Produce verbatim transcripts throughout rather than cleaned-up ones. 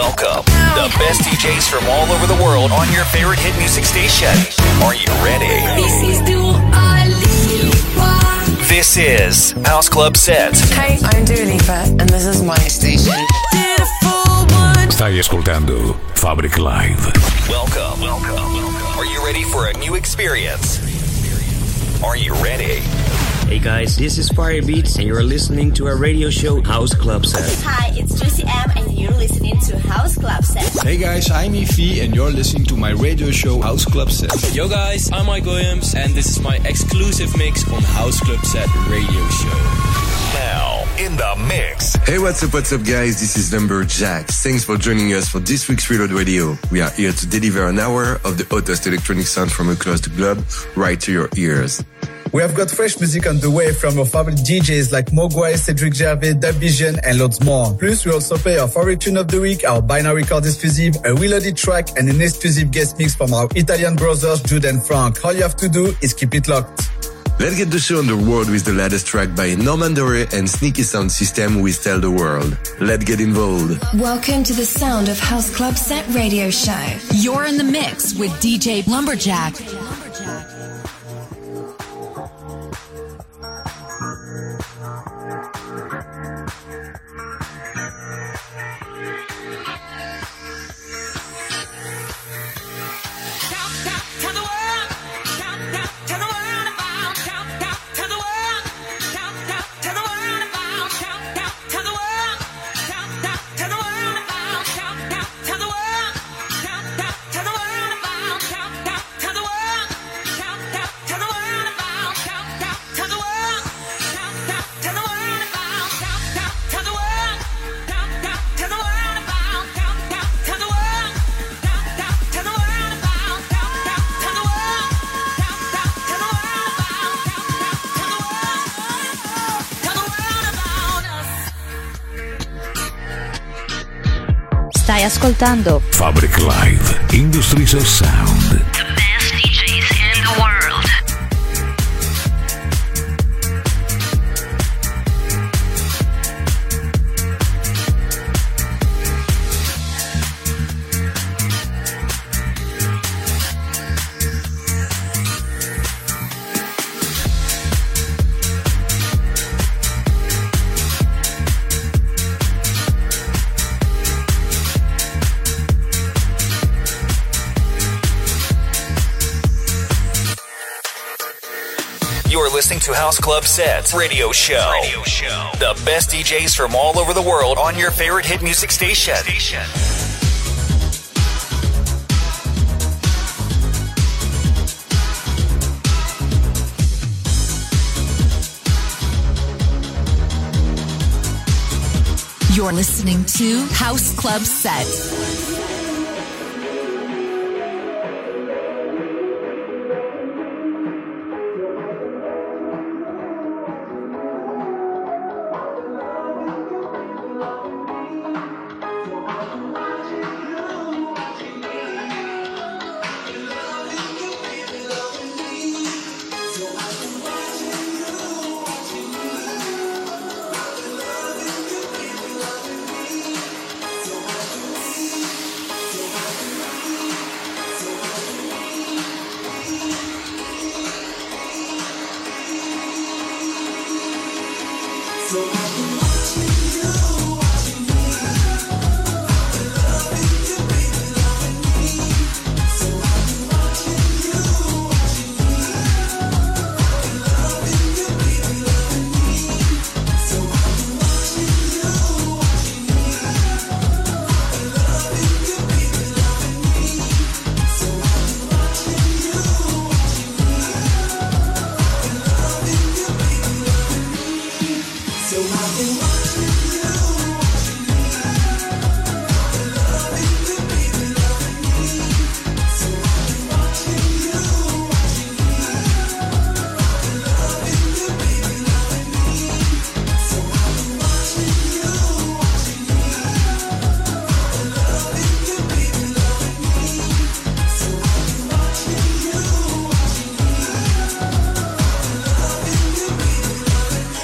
Welcome, the best D Js from all over the world on your favorite hit music station. Are you ready? This is Dua Lipa. This is House Club Set. Hey, I'm Dua Lipa and this is my station. Stai ascoltando Fabric Live. Welcome, welcome, welcome. Are you ready for a new experience? Are you ready? Hey guys, this is Firebeats and you're listening to our radio show House Club Set. Hi, it's Juicy M and you're listening to House Club Set. Hey guys, I'm Ify and you're listening to my radio show House Club Set. Yo guys, I'm Mike Williams and this is my exclusive mix on House Club Set radio show. Now, in the mix. Hey, what's up, what's up, guys? This is Lumberjack. Thanks for joining us for this week's Reload Radio. We are here to deliver an hour of the hottest electronic sound from across the globe right to your ears. We have got fresh music on the way from our favorite D Js like Mogwai, Cedric Gervais, Dub Vision, and loads more. Plus, we also play our favorite tune of the week, our Binary Record exclusive, a reloaded track, and an exclusive guest mix from our Italian brothers, Jude and Frank. All you have to do is keep it locked. Let's get the show on the road with the latest track by Norman Doray and Sneaky Sound System with Tell the World. Let's get involved. Welcome to the Sound of House Club Set radio show. You're in the mix with D J Lumberjack. Stai ascoltando Fabric Live, Industries of Sound. The best D Js in the world. You're listening to House Club Set radio show. Radio show. The best D Js from all over the world on your favorite hit music station. station. You're listening to House Club Set.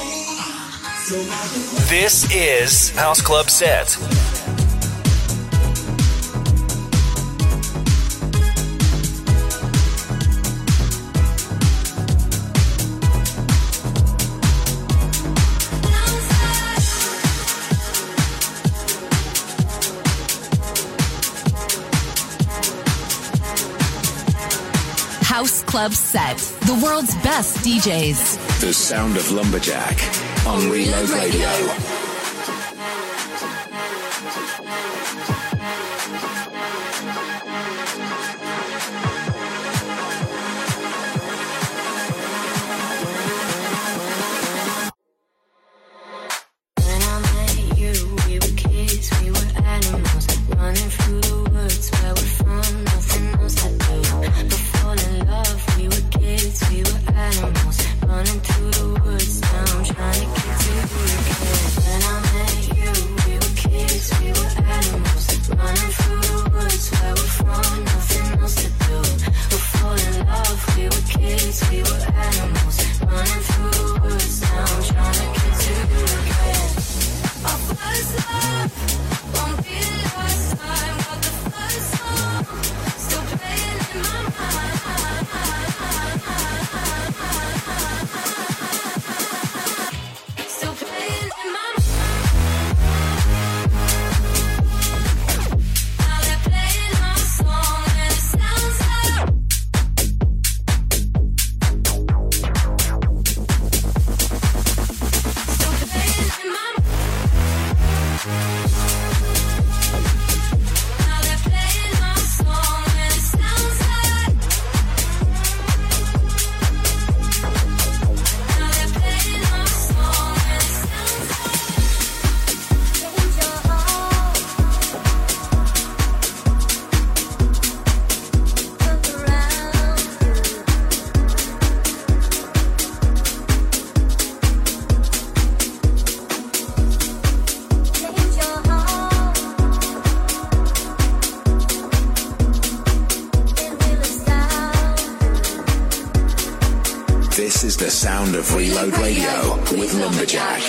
This is House Club Set. House Club Set. The world's best D Js. The sound of Lumberjack on Reload Radio. This is the sound of Reload Radio with Lumberjack.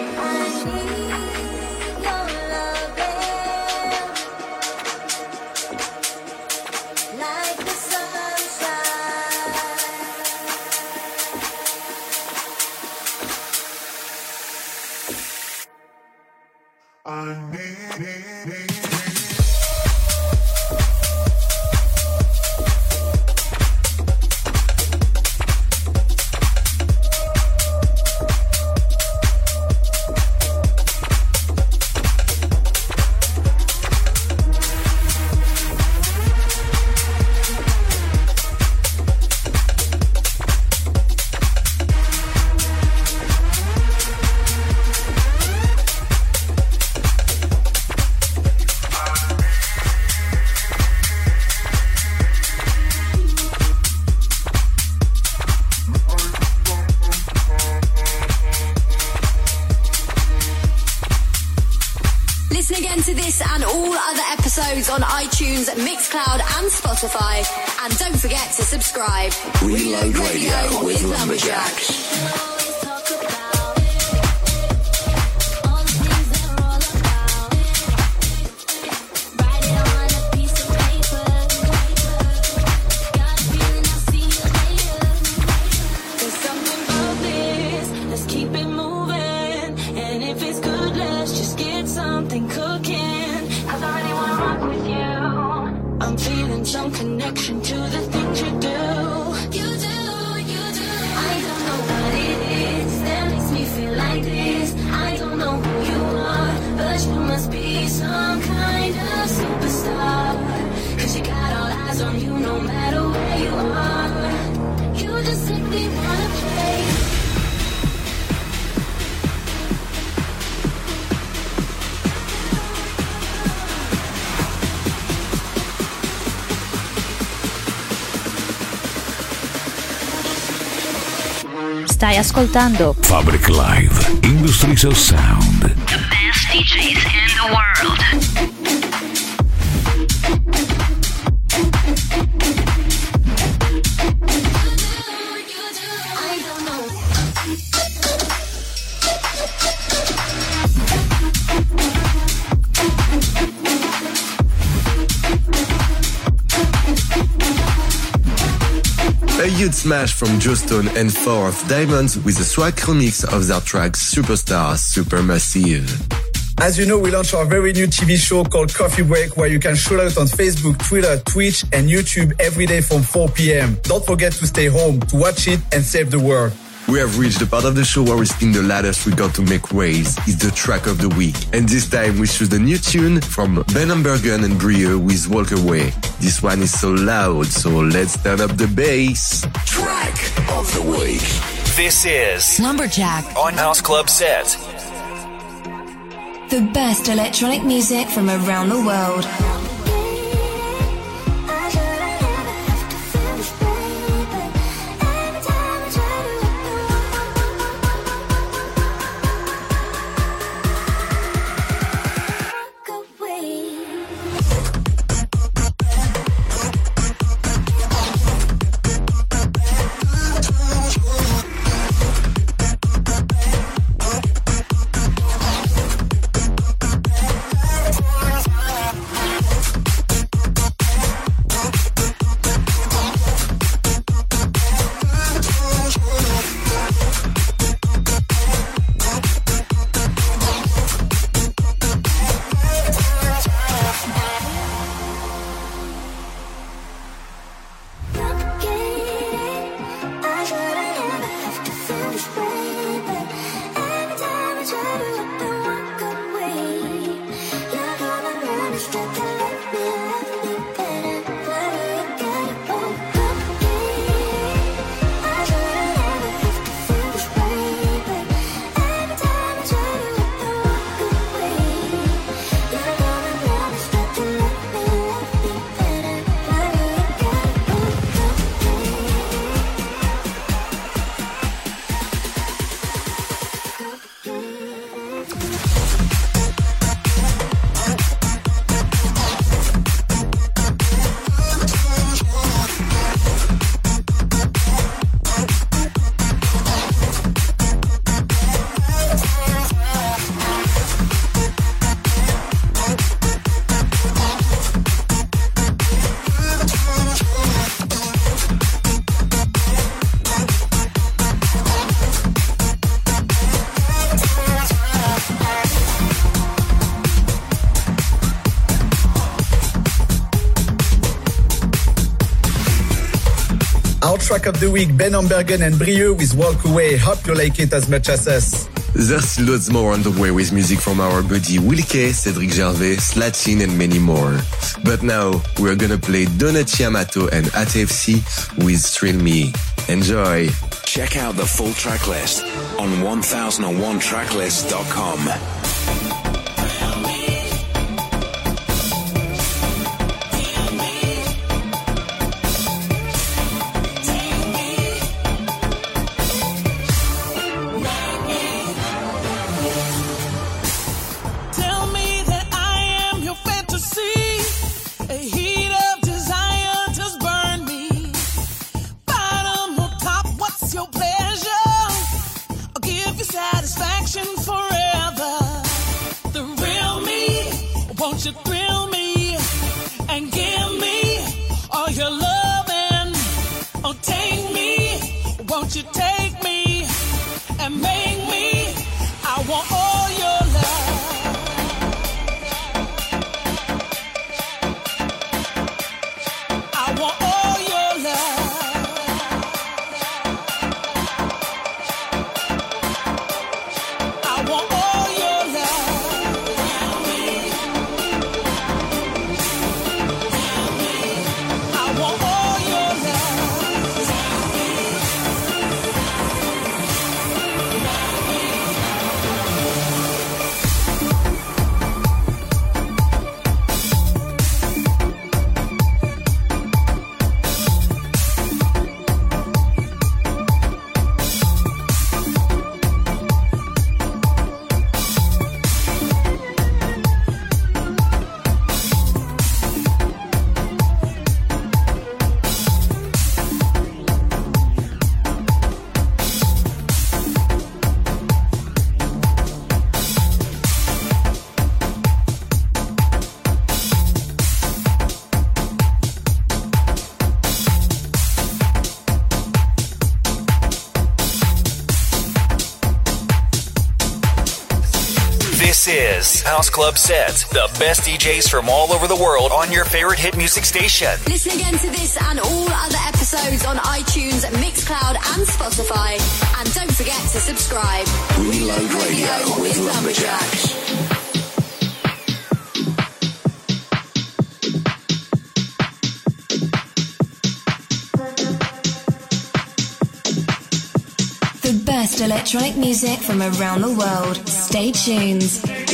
On iTunes, Mixcloud and Spotify. And don't forget to subscribe. Reload Radio with Lumberjack. Stai ascoltando Fabric Live, Industries of Sound. The best D Js in the world. A huge smash from Joe Stone and Four of Diamonds with a swag remix of their track Superstar Supermassive. As you know, we launched our very new T V show called Coffee Break, where you can shout out on Facebook, Twitter, Twitch, and YouTube every day from four p.m. Don't forget to stay home to watch it and save the world. We have reached the part of the show where we spin the latest record to make waves. It's the track of the week. And this time we choose the new tune from Ben Ambergen and Brieux with Walk Away. This one is so loud, so let's turn up the bass. Track of the week. This is Lumberjack on House Club Set. The best electronic music from around the world. Track of the week, Ben Ambergen and Brieux with Walk Away. Hope you like it as much as us. There's loads more on the way with music from our buddy Wilke, Cedric Gervais, Slatin and many more. But now we're gonna play Donaty Amato and A T F C with Thrill Me. Enjoy! Check out the full track list on one thousand one tracklist dot com. Satisfaction forever. The real me, won't you thrill me and give me all your loving? Oh, take me, won't you take me and make me? I want all your love. I want all your love. Yeah. This is House Club Set, the best D Js from all over the world on your favorite hit music station. Listen again to this and all other episodes on iTunes, Mixcloud and Spotify. And don't forget to subscribe. Reload Radio with Lumberjack. The best electronic music from around the world. Stay tuned.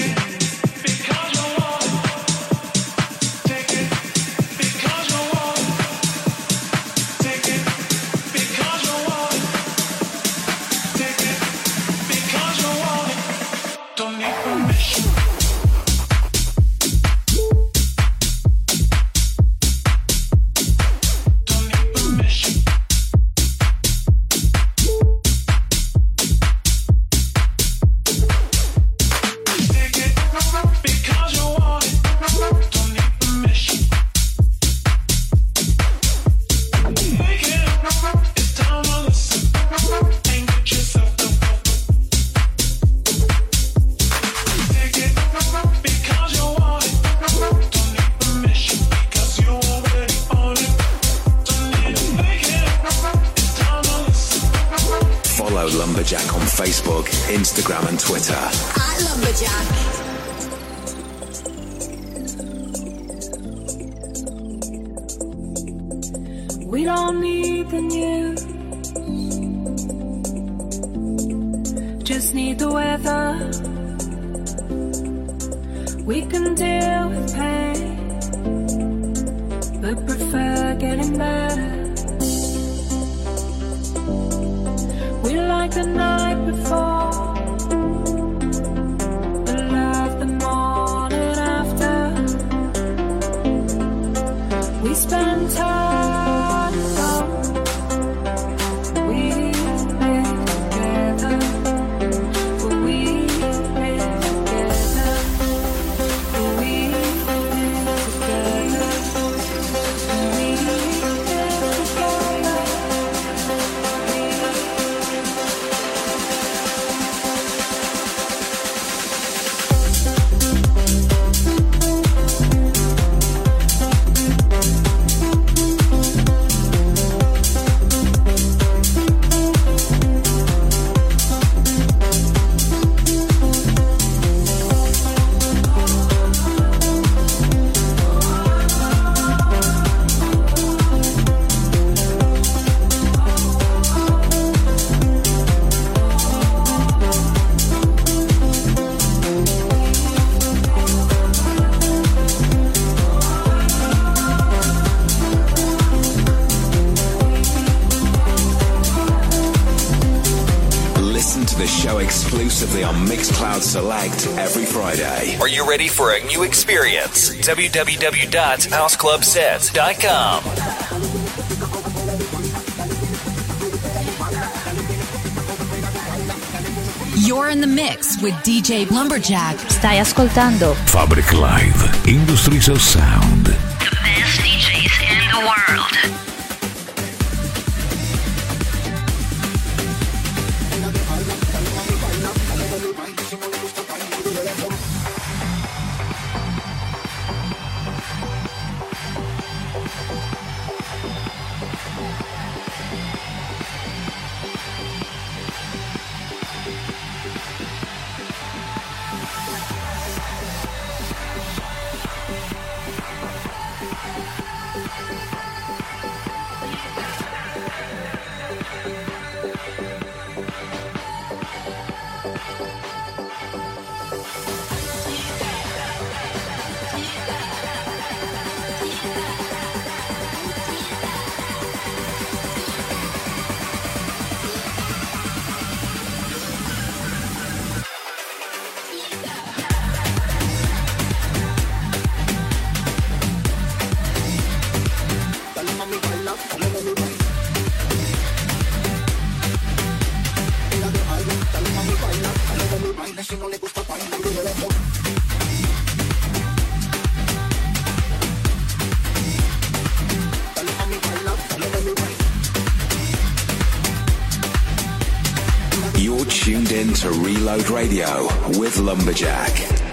Lumberjack on Facebook, Instagram and Twitter. At Lumberjack. We don't need the news, just need the weather. We can deal with pain, but prefer getting better. We like the night before, but love the morning after. We spend time alone, we live together, but we live together, but we live together, but we live together. Exclusively on Mixcloud Select every Friday. Are you ready for a new experience? w w w dot house club set dot com. You're in the mix with D J Lumberjack. Stai ascoltando Fabric Live, Industries of Sound. The best D Js in the world. You're tuned in to Reload Radio with Lumberjack.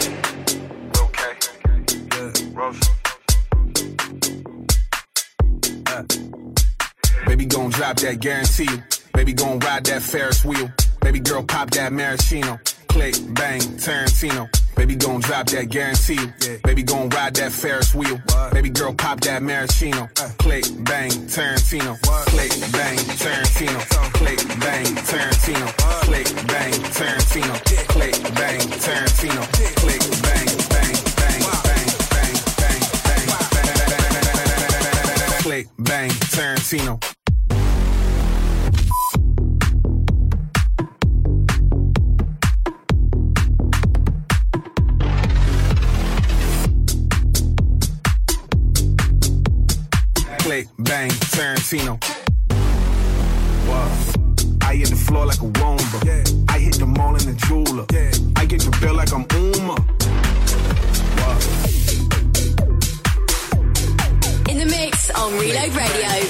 Uh, baby gon' drop that, guarantee you. Baby gon' ride that Ferris wheel. Baby girl pop that maraschino. Click, bang, Tarantino. Baby gon' drop that, guarantee you. Yeah. Baby gon' ride that Ferris wheel. What? Baby girl pop that maraschino. Uh. Click, bang, Tarantino. What? Click, bang, Tarantino. Click, bang, Tarantino. What? Click, bang, Tarantino. Yeah. Click, bang, Tarantino. Yeah. Click, bang, bang, bang, wow. bang, bang, bang, bang, wow. bang, bang, bang, click, bang, Tarantino. Click, bang, Tarantino. Wow. I hit the floor like a Womba. Yeah. I hit the mall in the jeweler. Yeah. I get the bill like I'm Uma. Wow. In the mix on Reload Radio.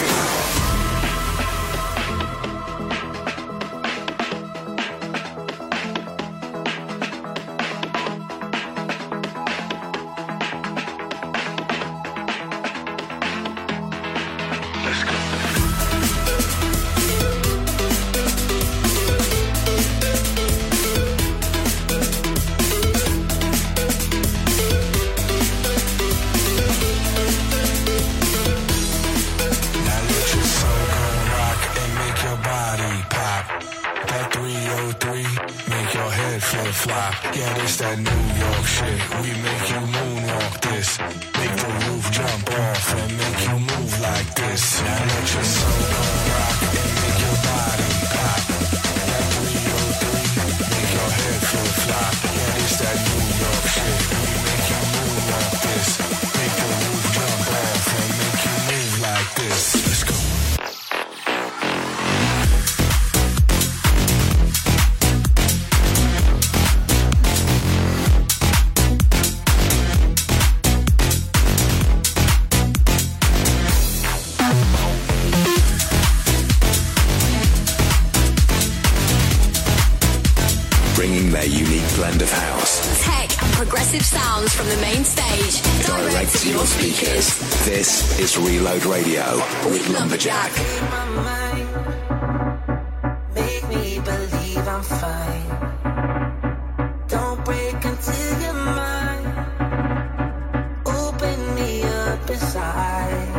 Yeah, this that New York shit. We make you moonwalk this. Make the roof jump off and make you move like this. Now let your soul come rock and make your body pop. That three oh three, make your head flip flop. Yeah, this that New York shit. We make you moonwalk this. Make the roof jump off and make you move like this. Let's go. Their unique blend of house, tech and progressive sounds from the main stage, direct, direct to your speakers. This is Reload Radio with Lumberjack. Make me believe I'm fine. Don't break into your mind. Open me up inside.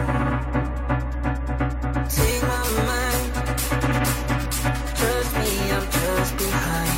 Take my mind. Trust me, I'm just behind.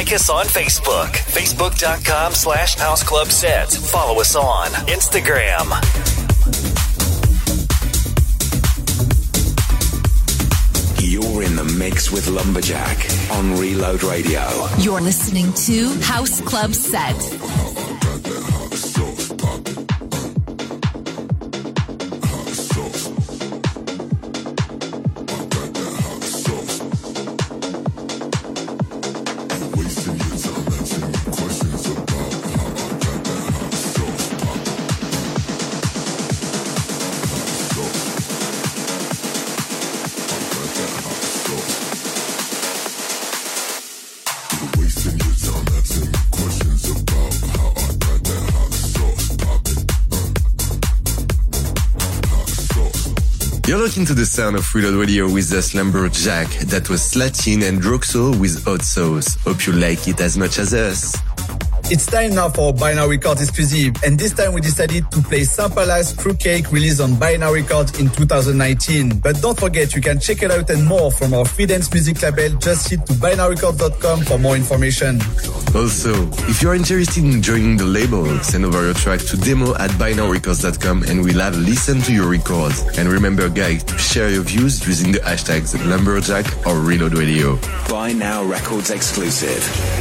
Like us on Facebook, facebook.com slash House Club Set. Follow us on Instagram. You're in the mix with Lumberjack on Reload Radio. You're listening to House Club Set. You're looking to the sound of Reload Radio with us, Lumberjack. That was Slatin and Droxo with Hot Sauce. Hope you like it as much as us. It's time now for Binary Records exclusive, and this time we decided to play Sampala's Fruitcake released on Binary Records in two thousand nineteen. But don't forget, you can check it out and more from our free dance music label. Just head to binary records dot com for more information. Also, if you're interested in joining the label, send over your track to demo at binary records dot com and we'll have listened to your records. And remember, guys, to share your views using the hashtags Lumberjack or Reload Radio. Buy Now Records exclusive.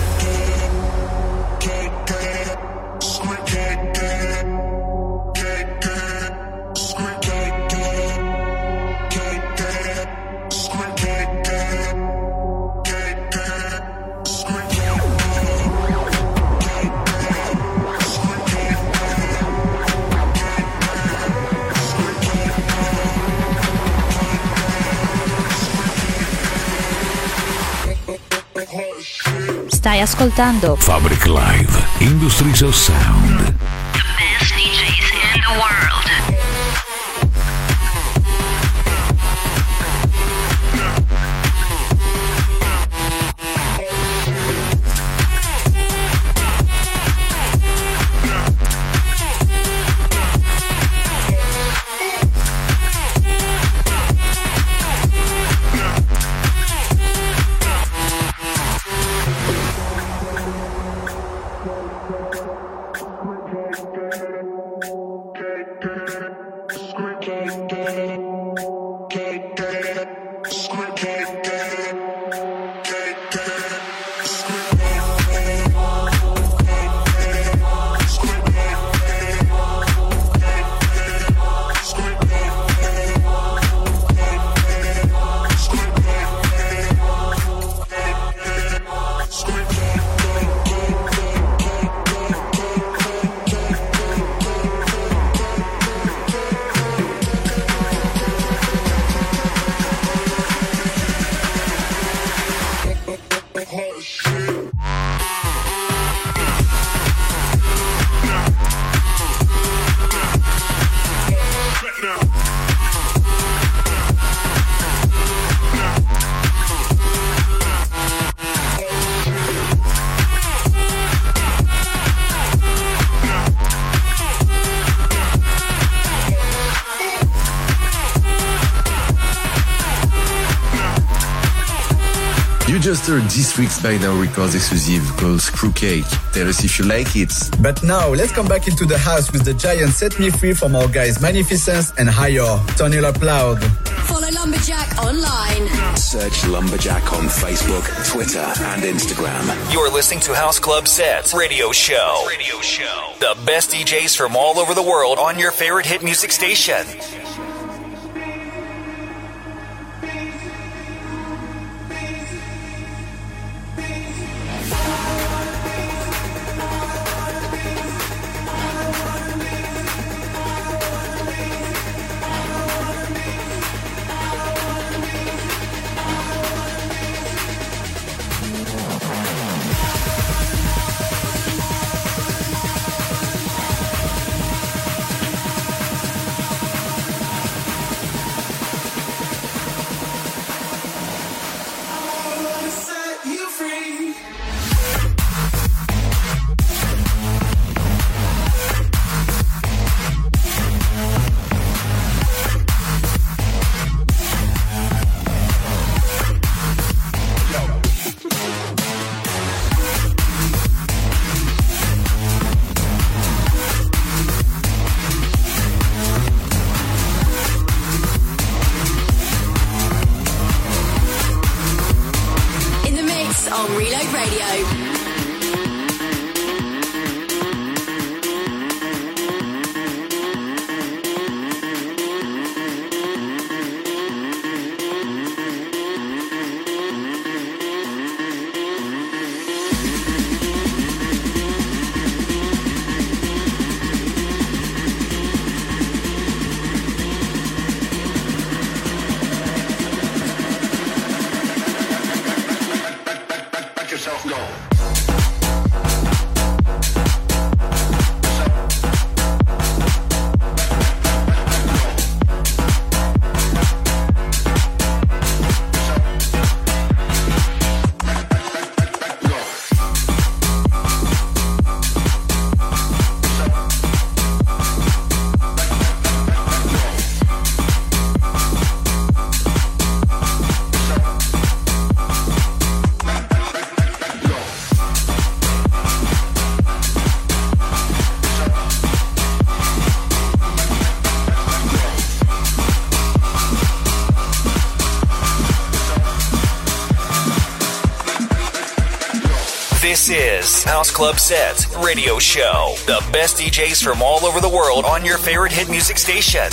Stai ascoltando Fabric Live, Industries of Sound. The best D Js in the world. You just heard this week's Binary Records exclusive called Fruitcake. Tell us if you like it. But now, let's come back into the house with the giant Set Me Free from our guys Magnificence and Higher. Turn it up loud. Follow Lumberjack online. Search Lumberjack on Facebook, Twitter, and Instagram. You're listening to House Club Set Radio Show. Radio Show. The best D Js from all over the world on your favorite hit music station. This is House Club Set Radio Show. The best D Js from all over the world on your favorite hit music station.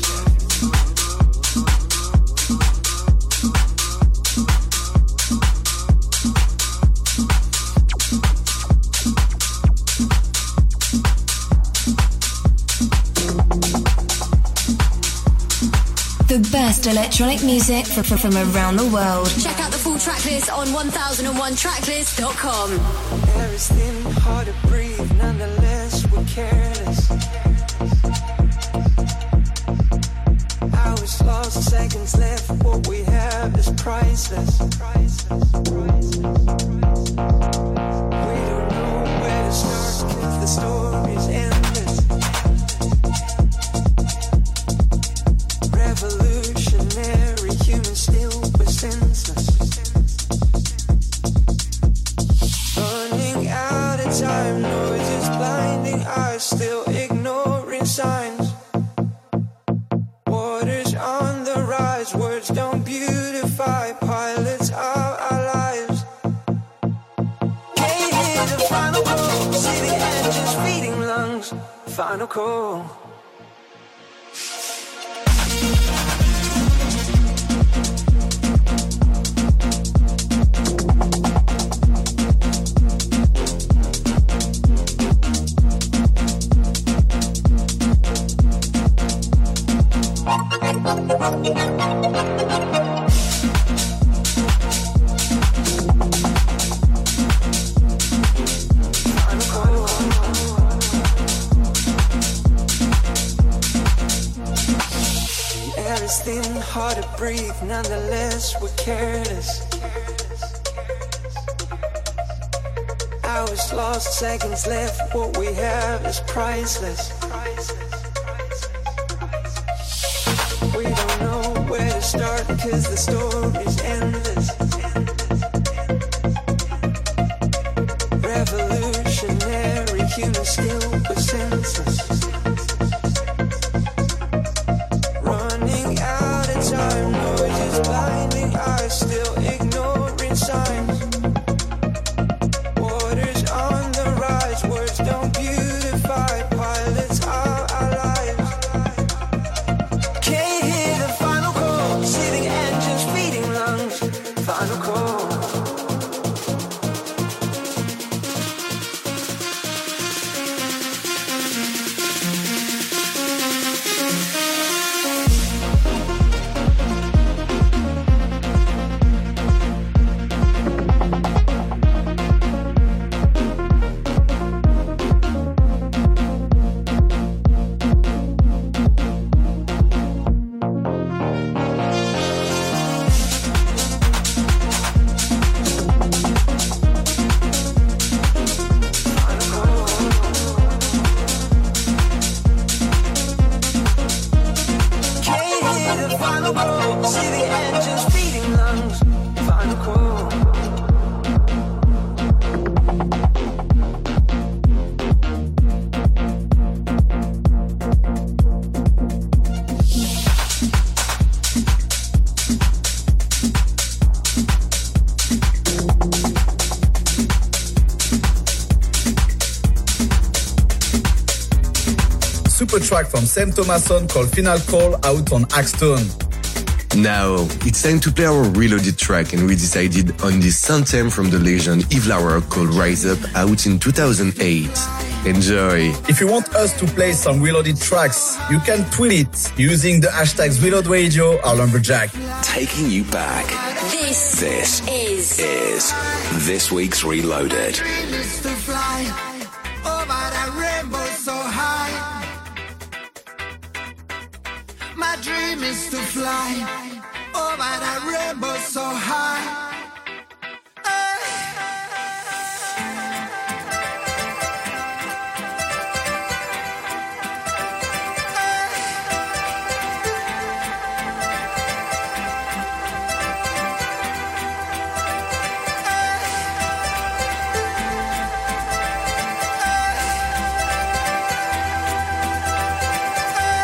The best electronic music from, from around the world. Check out the full track list on one thousand one tracklist dot com. Air is thin, hard to breathe, nonetheless we're careless. Hours lost, seconds left, what we have is priceless. We don't know where to start, cause the story's endless. Revolutionary, human still but senseless. Running out of time, noise is blinding eyes, still ignoring signs. Waters on the rise, words don't beautify, pilots of our lives. Can't hear the final call, see the engines feeding lungs. Final call. Air is thin, hard to breathe, nonetheless we're careless. Hours lost, seconds left, what we have is priceless. We don't know where to start, cause the story's endless. Revolutionary, human still but senseless. Running out of time, noise is blinding eyes, still ignoring signs. Waters on the rise, words don't beautify, pilots are our lives. Can't hear the final call, see the engines feeding lungs. Final call. Super track from Sam Thomason called Final Call out on Axstone. Now, it's time to play our reloaded track, and we decided on this anthem from the legend Yves Lauer called Rise Up, out in two thousand eight. Enjoy! If you want us to play some reloaded tracks, you can tweet it using the hashtags Reload Radio or Lumberjack. Taking you back. This, this is, is this week's Reloaded. Dream is to fly over that rainbow so high. My dream is to fly over that rainbow so high.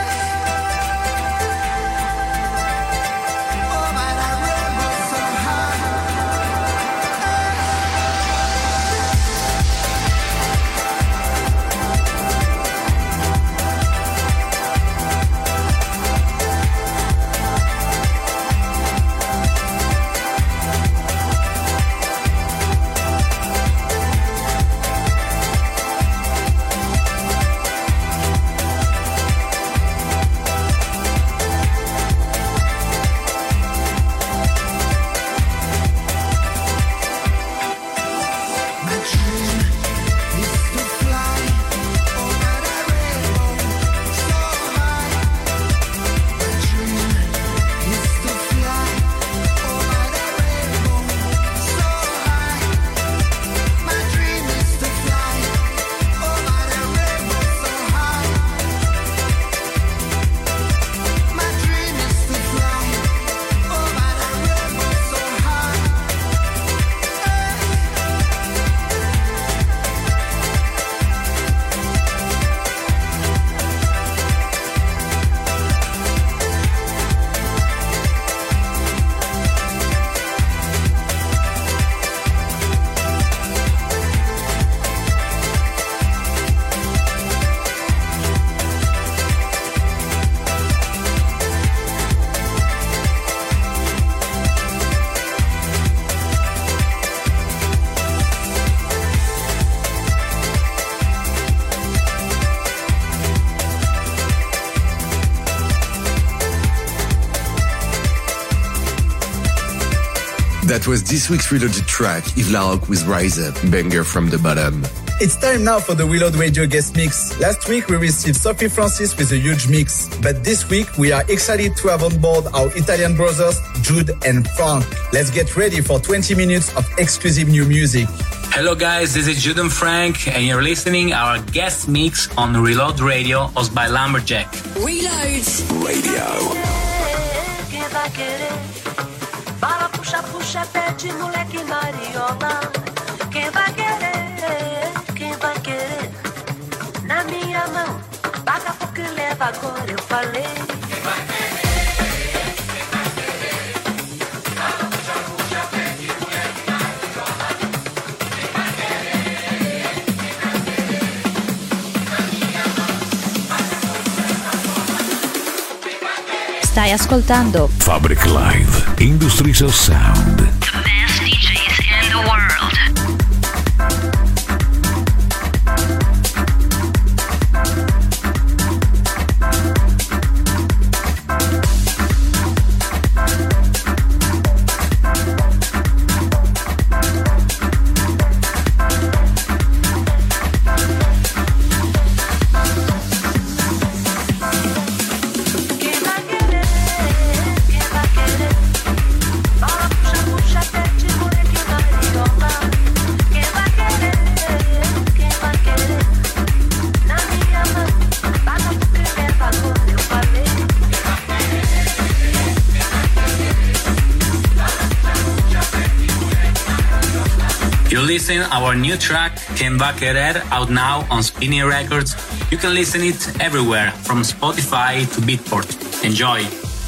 High. That was this week's Reloaded track, Yves Laroque with Rise Up, banger from the bottom. It's time now for the Reload Radio guest mix. Last week we received Sophie Francis with a huge mix, but this week we are excited to have on board our Italian brothers, Jude and Frank. Let's get ready for twenty minutes of exclusive new music. Hello guys, this is Jude and Frank, and you're listening our guest mix on Reload Radio, hosted by Lumberjack. Reload Radio. Bala, puxa, puxa, pede, moleque mariola. Quem vai querer, quem vai querer? Na minha mão, paga pouco e leva agora, eu falei. Quem vai querer, quem vai querer? Bala, puxa, puxa, pede, moleque mariola. Quem vai querer, quem vai querer? Na minha mão, paga pouco e leva agora. Quem vai querer? Stai ascoltando Fabric Live, Industries of Sound. The best D Js in the world. Listen our new track Quem Va Querer, out now on Spinning Records. You can listen it everywhere from Spotify to Beatport. Enjoy.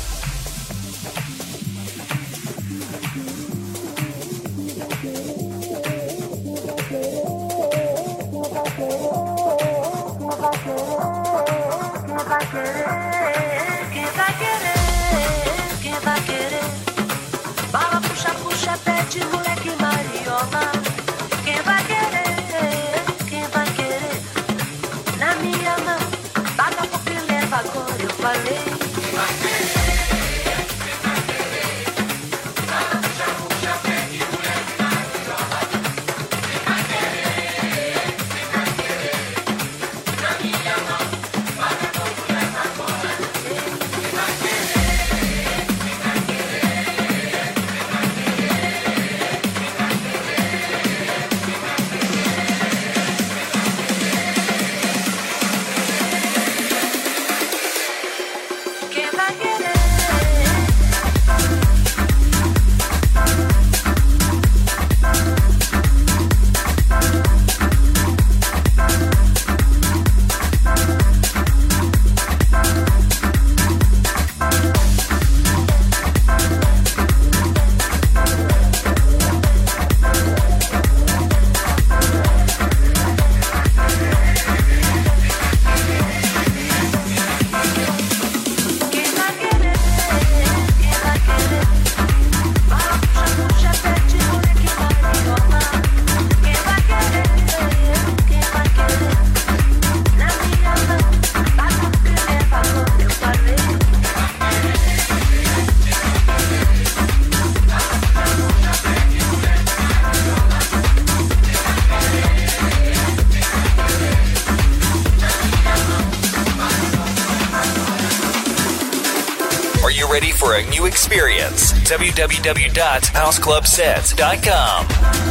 Bala, puxa, puxa, pede, moleque mariola. Quem vai querer, quem vai querer? Na minha mão, paga pouco e leva agora, eu falei. Quem vai querer, quem vai querer? Bala, puxa, puxa, pede, moleque mariola. Quem vai querer, quem vai querer? Na minha mão, paga pouco e leva agora, eu falei. Quem vai querer, quem vai querer? Quem vai querer, quem vai ready for a new experience. w w w dot house club set dot com.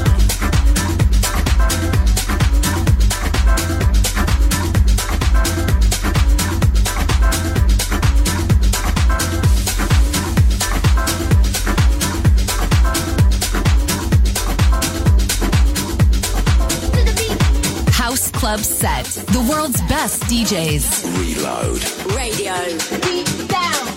House Club Set, the world's best D Js. Reload Radio. Deep down.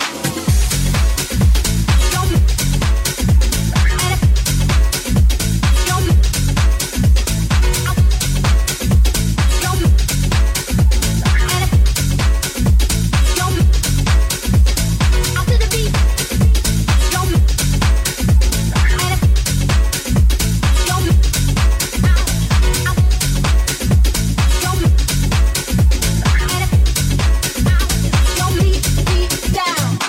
Down.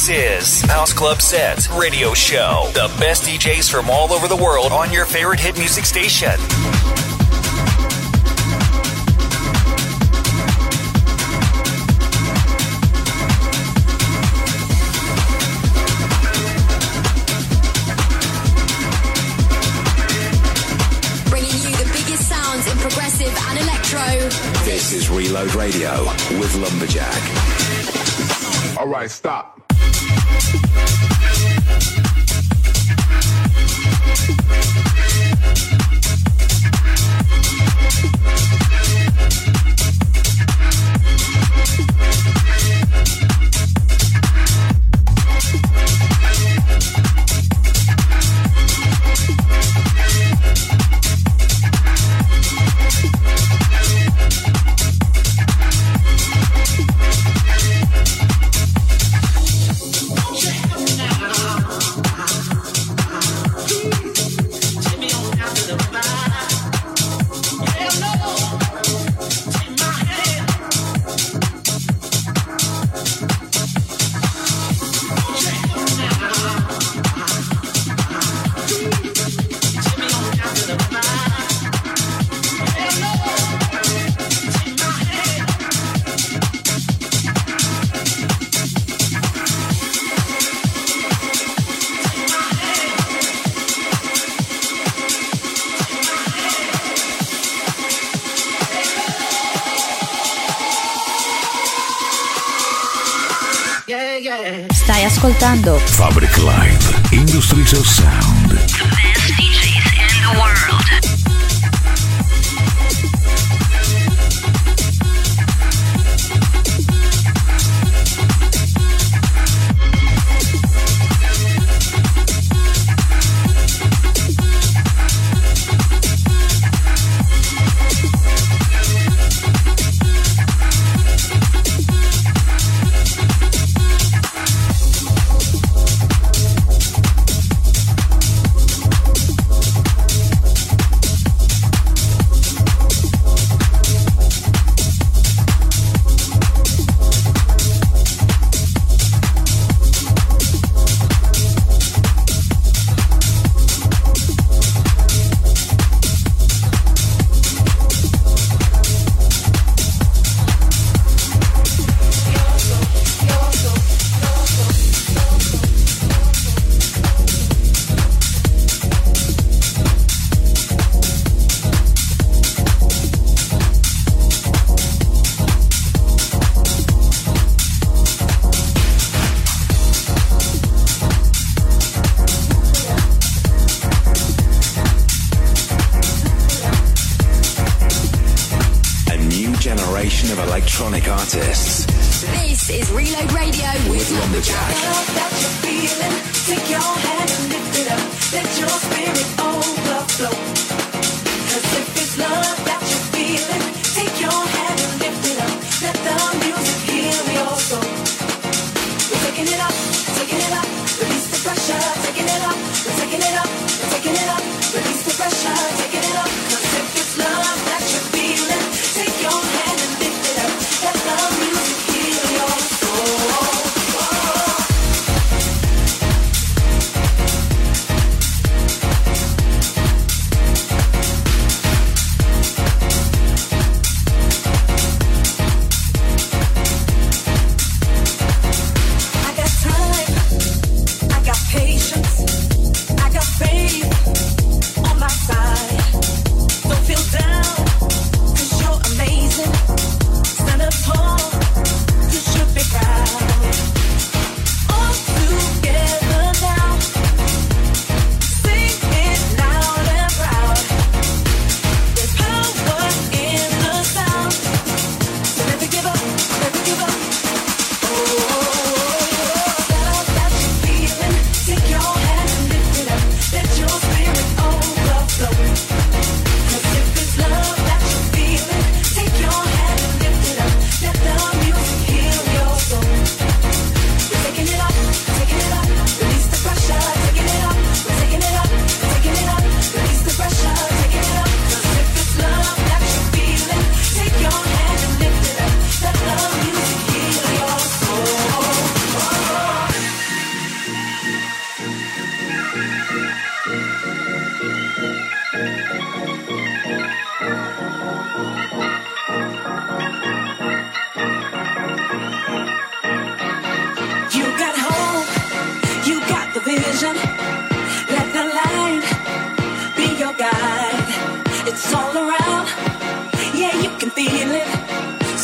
This is House Club Set Radio Show. The best D Js from all over the world on your favorite hit music station. Progressive and electro. This is Reload Radio with Lumberjack. All right, stop. Stai ascoltando Fabric Live, Industries of Sound. The best D Js in the world. Electronic artists. This is Reload Radio with Lumberjack. Take your hand and lift it up. Let your spirit overflow. Cause if it's love that you're feeling, take your hand and lift it up. Let the music heal your soul. We're taking it up, taking it up. Release the pressure, taking it up. We're taking it up, we're taking it up. Release the pressure, taking it up. Cause if it's love that you're feeling, take your hand and lift it up. Let the music heal your soul.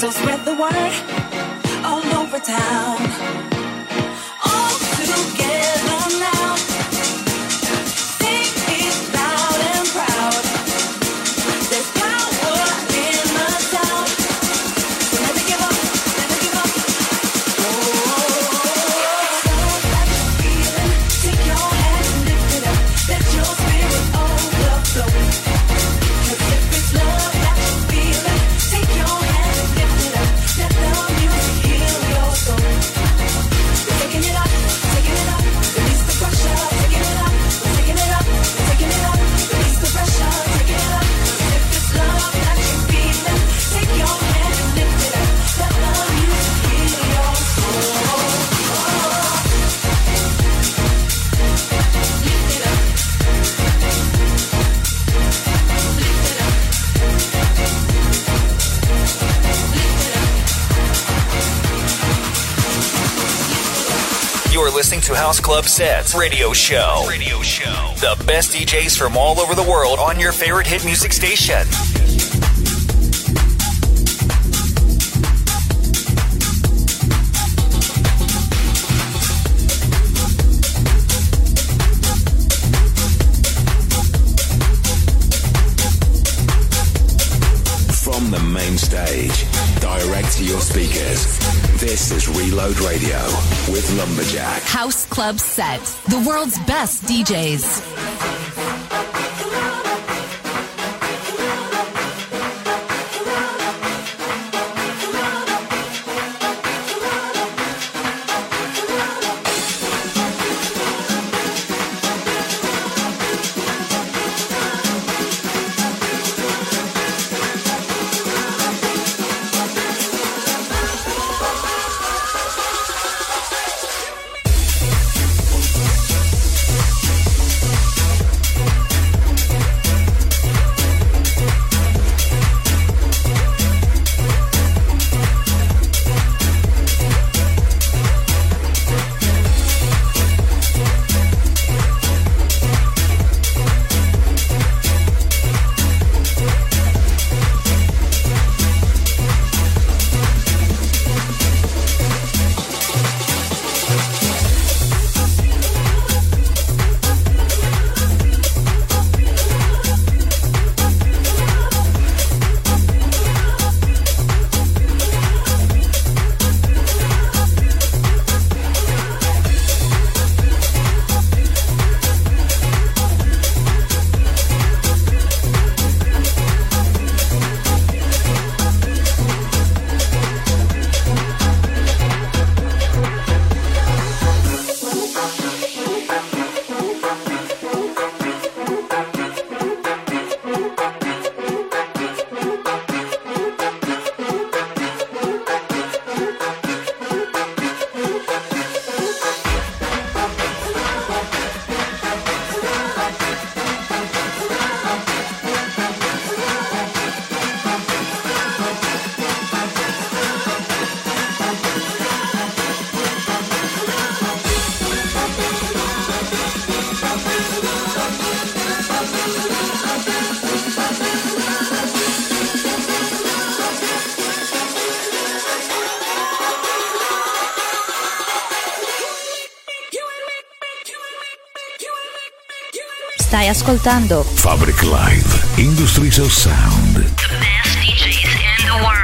So spread the word all over town. All together now. Sing it loud and proud. There's power in the sound. So never give up, never give up. Oh, sound that you're feeling. Take your hand and lift it up. Let your spirit overflow. 'Cause if it's love that you're feeling, take your hand and lift it up. Let the music heal your soul. We're taking it up, taking it up. Release the pressure, taking it up. We're taking it up, taking it up. Release the pressure, taking it up. 'Cause if it's love that you're feeling, take your hand and lift it up. Let the music heal your soul. Lift it up. You're listening to House Club Sets Radio Show. Radio Show. The best D Js from all over the world on your favorite hit music station. From the main stage, direct to your speakers. This is Reload Radio with Lumberjack. House Club Set, the world's best D Js. Stai ascoltando Fabric Live, Industries of Sound. The best D Js in the world.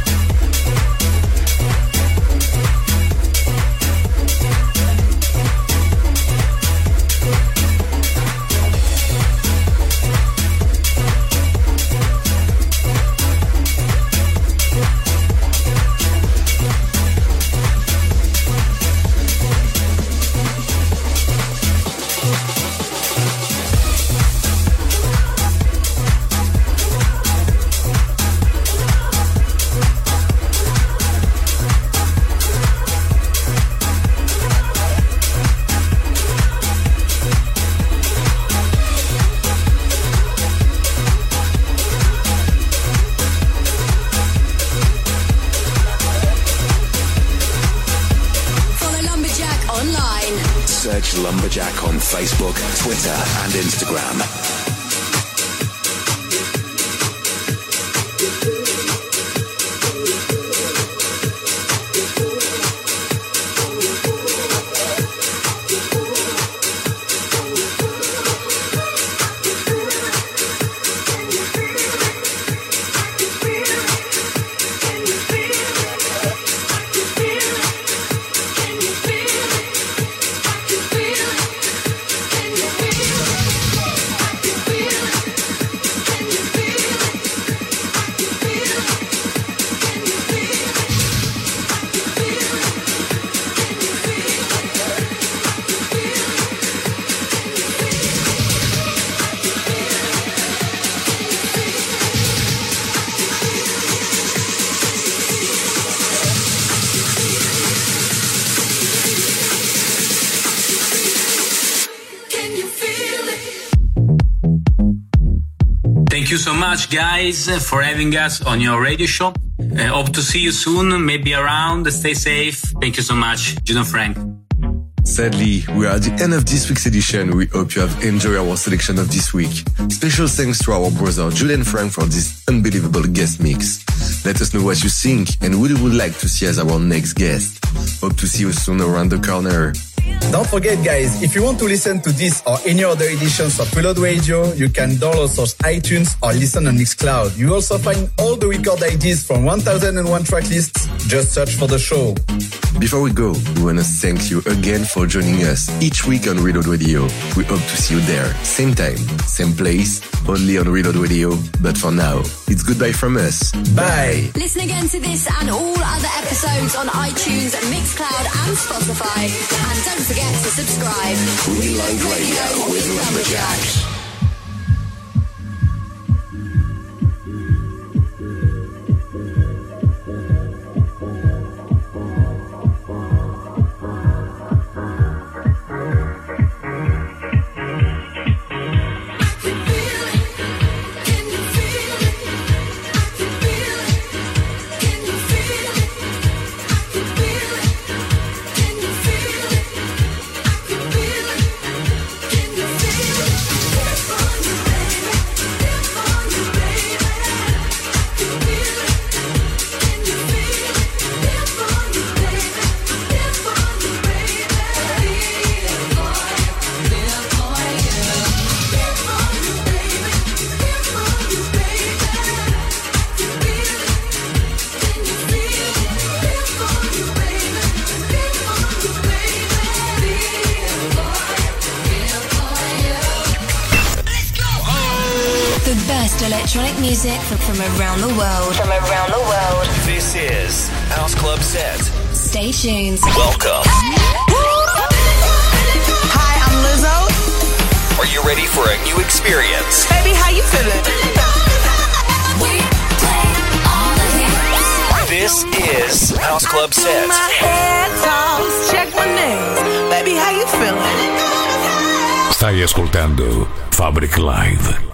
Search Lumberjack on Facebook, Twitter, and Instagram. you so much, guys, for having us on your radio show. Uh, hope to see you soon, maybe around. Stay safe. Thank you so much, Jude and Frank. Sadly, we are at the end of this week's edition. We hope you have enjoyed our selection of this week. Special thanks to our brother Jude and Frank for this unbelievable guest mix. Let us know what you think and who you would like to see as our next guest. Hope to see you soon around the corner. Don't forget, guys, if you want to listen to this or any other editions of Reload Radio, you can download us iTunes or listen on Mixcloud. You also find all the record I Ds from one thousand one track lists. Just search for the show. Before we go, we want to thank you again for joining us each week on Reload Radio. We hope to see you there, same time, same place, only on Reload Radio. But for now, it's goodbye from us. Bye. Listen again to this and all other episodes on iTunes, Mixcloud and Spotify. And don't forget to subscribe. Reload Radio with Lumberjack. Electronic music from, from around the world. From around the world. This is House Club Set. Stay tuned. Welcome. Hi, I'm Lizzo. Are you ready for a new experience? Baby, how you feeling? We play all the hits. This is House Club Set. My head toss, check my nails. Baby, how you feeling? Stai ascoltando Fabric Live.